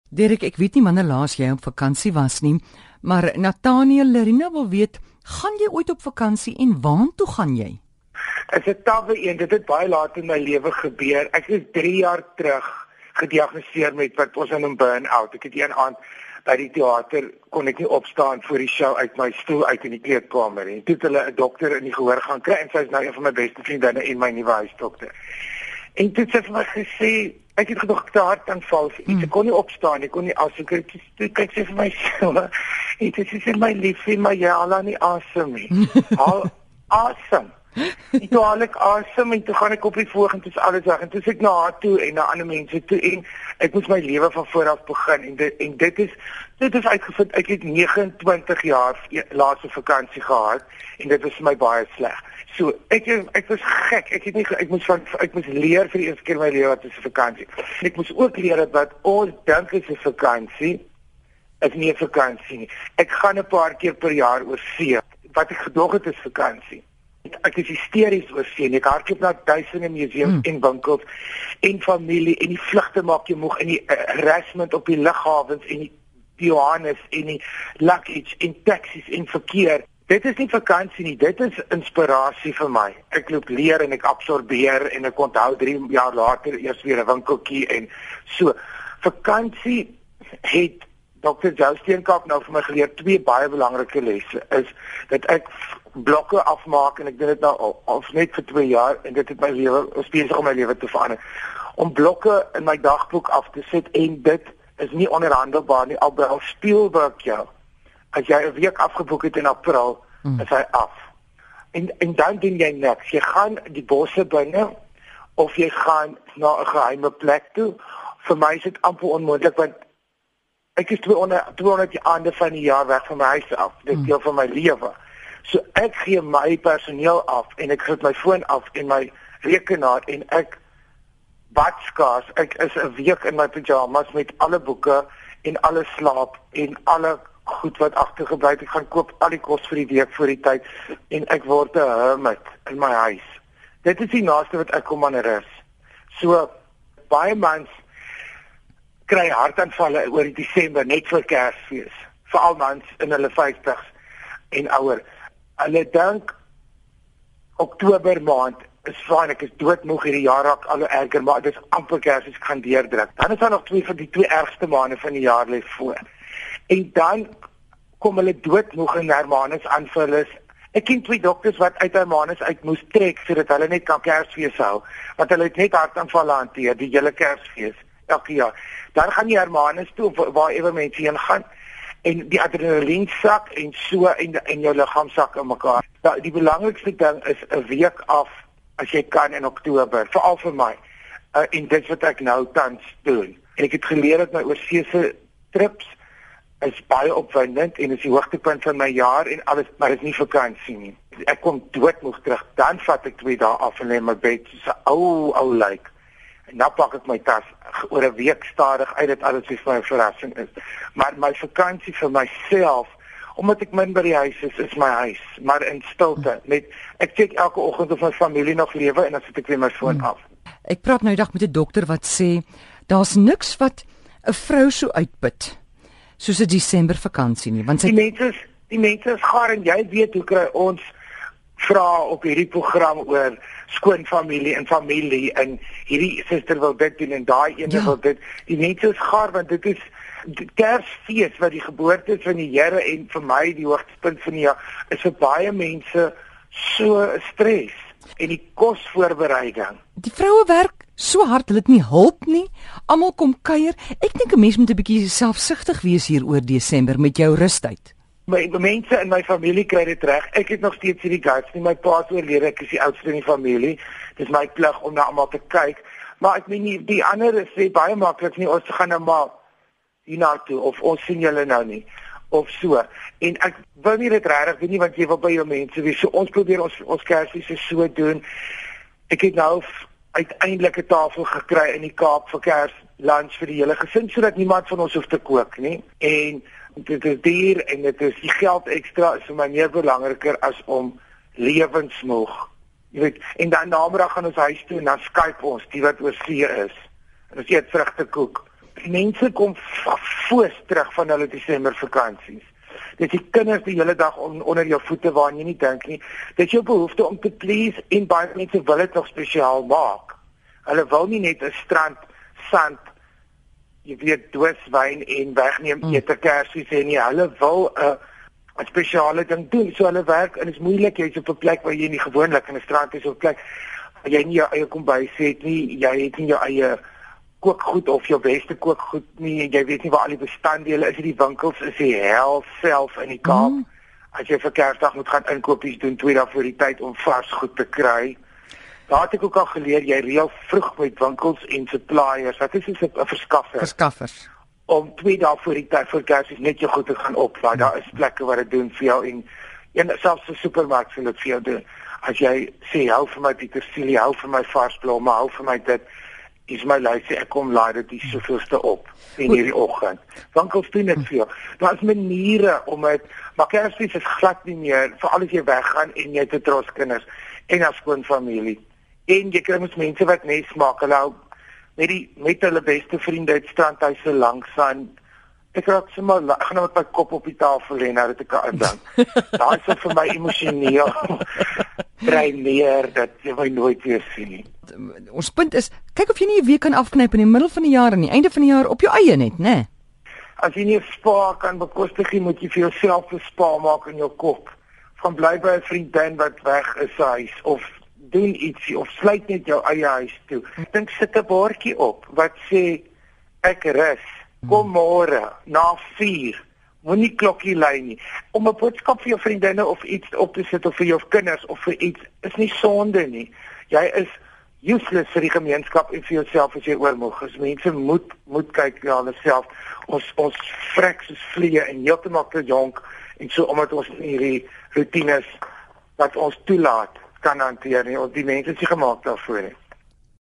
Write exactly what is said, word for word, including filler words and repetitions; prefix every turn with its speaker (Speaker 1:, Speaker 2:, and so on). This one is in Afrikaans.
Speaker 1: Derek, ek weet nie wanneer laas jy op vakansie was nie, maar Nathaniel Lerina wil weet, gaan jy ooit op vakansie en waartoe gaan jy?
Speaker 2: Dit is 'n tawwe een, dit het baie laat in my lewe gebeur. Ek is drie jaar terug gediagnoseer met wat ons noem burn-out. Ek het een aand by die teater kon ek nie opstaan voor die show uit my stoel uit in die kleedkamer nie. Toe het hulle 'n dokter in die gehoor gaan kry en sy is nou een van my beste vriendinne en my nuwe huisdokter. En toe het sy vir my gesê, ek het gedog ek het 'n hartaanval, hmm. ek kon nie opstaan, ek kon nie asem kry. Toe kyk sy vir my so, en toe sê sy, my liefie, maar jy haal nie asem nie. Haal asem. En toe haal ek asem en toe gaan ek op die voog en toe is alles weg. En toe sê ek na haar toe en na ander mense toe en ek moes my lewe van voor af begin. En dit, en dit is dit is uitgevind, ek het nege en twintig jaar laaste vakansie gehad en dit was vir my baie sleg. So, ek ek was gek. Ek het nie ek moes van ek moes leer vir die eerste keer in my lewe wat is 'n vakansie. En ek moes ook leer dat wat ons dink is 'n vakansie is nie 'n vakansie nie. Ek gaan 'n paar keer per jaar oor see. Wat ek gedog het is vakansie. Ek is hysteries oor see. Ek hardloop na duisende museums hmm. en winkels en familie en die vlugte maak jou moeg en die harassment op die lughawens en die Johannes en die luggage en taxis en verkeer. Dit is nie vakansie nie, dit is inspirasie vir my. Ek loop leer en ek absorbeer en ek onthou drie jaar later eers weer 'n winkeltjie en so. Vakansie het dokter Joe Steenkamp nou vir my geleer twee baie belangrike lesse is dat ek blokke afmaak en ek doen dit nou al, al net vir twee jaar en dit het my lewe besig om my lewe te verander. Om blokke in my dagboek af te sit en dit is nie onderhandelbaar nie, albei Spielberg jou. As jy 'n week afgeboek het in April, hmm. is hy af. En en dan doen jy niks. Jy gaan die bosse binne of jy gaan na 'n geheime plek toe. Vir my is dit amper onmoontlik want ek is tweehonderd aande van die jaar weg van my huis af. Dit is deel van my lewe. So ek gee my personeel af en ek sit my foon af en my rekenaar en ek bad skaars. Ek is 'n week in my pyjamas met alle boeke en alle slaap en alle goed wat agtergebly het. Ek gaan koop al die kos vir die week voor die tyd en ek word 'n hermit in my huis. Dit is die naaste wat ek kom aan rus. So baie mans kry hartaanvalle oor die Desember net vir Kersfees. Veral mans in hulle vyftigs en ouer. Hulle dink Oktober maand is fyn, ek is doodmoeg hierdie jaar raak al erger, maar dit is amper Kersfees ek gaan deurdruk. Dan is daar nog twee van die twee ergste maande van die jaar lê voor. En dan kom hulle doodmoeg en Hermanus aanval is. Ek ken twee dokters wat uit Hermanus uit moes trek sodat hulle net kan Kersfees hou, want hulle het net hartaanvalle hanteer die hele Kersfees elke jaar. Dan gaan die Hermanus toe waar ewe mense heen gaan en die adrenalien sak en so en en jou liggaam sak in mekaar. Da, die belangrikste ding is 'n week af as jy kan in Oktober, veral vir my. Uh, en dit wat ek nou tans doen. En ek het geleer dat my oorseese trips is baie opwindend en is die hoogtepunt van my jaar en alles, maar dit is nie vakansie nie. Ek kom doodmoeg terug, dan vat ek twee dae af en lê in my bed soos 'n ou ou lijk. En dan pak ek my tas oor 'n week stadig uit dat alles vir my 'n verrassing is. Maar my vakansie vir myself, omdat ek min by die huis is, is my huis, maar in stilte. Net ek kyk elke oggend of my familie nog lewe en dan sit ek weer my foon af.
Speaker 1: Ek praat nou die dag met 'n dokter wat sê daar's niks wat 'n vrou so uitput soos 'n Desember vakansie nie, want sy
Speaker 2: die mense die mense is gaar en jy weet hoe kry ons vra op hierdie program oor skoonfamilie en familie en hierdie suster wil dit doen en daai ene ja. wil dit. Die mense is gaar want dit is die Kersfees wat die geboorte is van die Here en vir my die hoogtepunt van die jaar is vir baie mense so stres en die kosvoorbereiding.
Speaker 1: Die vroue werk so hard, hulle het nie hulp nie. Almal kom kuier. Ek dink 'n mens moet 'n bietjie selfsugtig wees hier oor Desember met jou rustyd.
Speaker 2: My mense in my familie kry dit reg. Ek het nog steeds hierdie guts nie. My pa is oorlede, ek is die oudste in die familie. Dis my plig om na almal te kyk. Maar ek meen nie die ander sê baie maklik nie, ons gaan nou maar hiernatoe of ons sien julle nou nie of so. En ek wil nie dit regtig doen nie want jy wil by jou mense wees. So ons probeer ons ons Kersfees so doen. Ek het nou uiteindelik 'n tafel gekry in die Kaap vir Kerslunch vir die hele gesin sodat niemand van ons hoef te kook nie. En dit is duur en dit is die geld ekstra is vir my meer belangriker as om lewensmoeg. Jy weet, en dan namiddag gaan ons huis toe en dan Skype ons die wat oor see is. En ons eet vrugtekoek mense kom foos terug van hulle Desember vakansies. Dis die kinders die hele dag on, onder jou voete waar jy nie dink nie. Dit is jou behoefte om te please en baie mense wil dit nog spesiaal maak. Hulle wil nie net 'n strand, sand, jy weet, dooswyn en wegneem mm. ete kersies en nie. Hulle wil 'n uh, 'n spesiale ding doen. So hulle werk en dit is moeilik jy's op 'n plek waar jy nie gewoonlik in 'n strand is of 'n plek waar jy nie jou eie kombuis het nie, jy het nie jou eie kookgoed of jou beste kookgoed nie, jy weet nie waar al die bestanddele is, die winkels is die hel self in die Kaap. Mm. As jy vir Kersdag moet gaan inkopies doen twee dae voor die tyd om vars goed te kry. Daar het ek ook al geleer jy reël vroeg met winkels en suppliers. Wat is dit 'n verskaffer?
Speaker 1: Verskaffers.
Speaker 2: Om twee dae voor die tyd voor Kersfees net jou goed te gaan oplaai. Mm. Daar is plekke waar dit doen vir jou en en selfs vir supermark sal dit vir jou doen. As jy sê hou vir my petersilie, hou vir my vars blomme, hou vir my dit is my lysie, ek kom laai dit die soveelste op in hierdie oggend. Winkels doen dit vir jou. Daar is maniere om dit, maar Kersfees is glad nie meer, veral as jy weggaan en jy het 'n tros kinders en 'n skoon familie. En jy kry mos mense wat nes maak, hulle hou met die met hulle beste vriende uit strandhuise langs aan. Ek raak sommer, ek gaan nou met my kop op die tafel lê nou dat ek aan dink. Daai is vir my emosioneel dreineer dat jy my nooit weer sien nie.
Speaker 1: Ons punt is, kyk of jy nie 'n week kan afknyp in die middel van die jaar en die einde van die jaar op jou eie net, né? Nee?
Speaker 2: As jy nie 'n spa kan bekostig nie, moet jy vir jouself 'n spa maak in jou kop. Gaan bly by 'n vriendin wat weg is sy huis of doen ietsie of sluit net jou eie huis toe. Ek dink sit 'n bordjie op wat sê ek rus. Kom môre na vier. Moenie klokkie lui nie. Om 'n boodskap vir jou vriendinne of iets op te sit of vir jou kinders of vir iets is nie sonde nie. Jy is useless vir die gemeenskap en vir jouself as jy oormoeg is. Mense moet moet kyk na hulle self. Ons ons vrek soos vliee en heeltemal te jonk en so omdat ons hierdie rotines wat ons toelaat kan hanteer nie. Ons die mense is nie gemaak daarvoor nie.